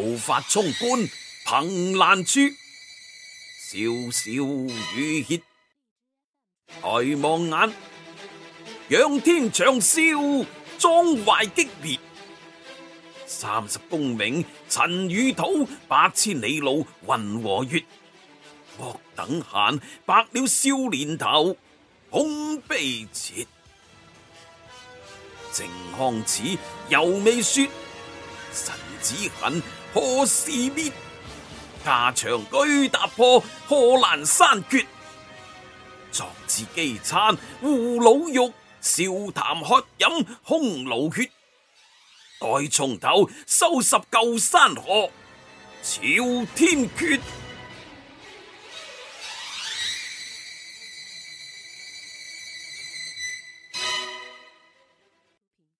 怒髮衝冠，憑欄處，蕭蕭雨歇。抬望眼，仰天長嘯，壯懷激烈。30功名塵與土，8千里路雲和月。莫等閒，白了少年頭，空悲切。靖康恥，猶未雪，臣子恨，何時滅？架牆舉踏破，賀蘭山決。壯志飢餐胡虜肉，笑談喝飲匈奴血。待從頭收拾舊山河，朝天決。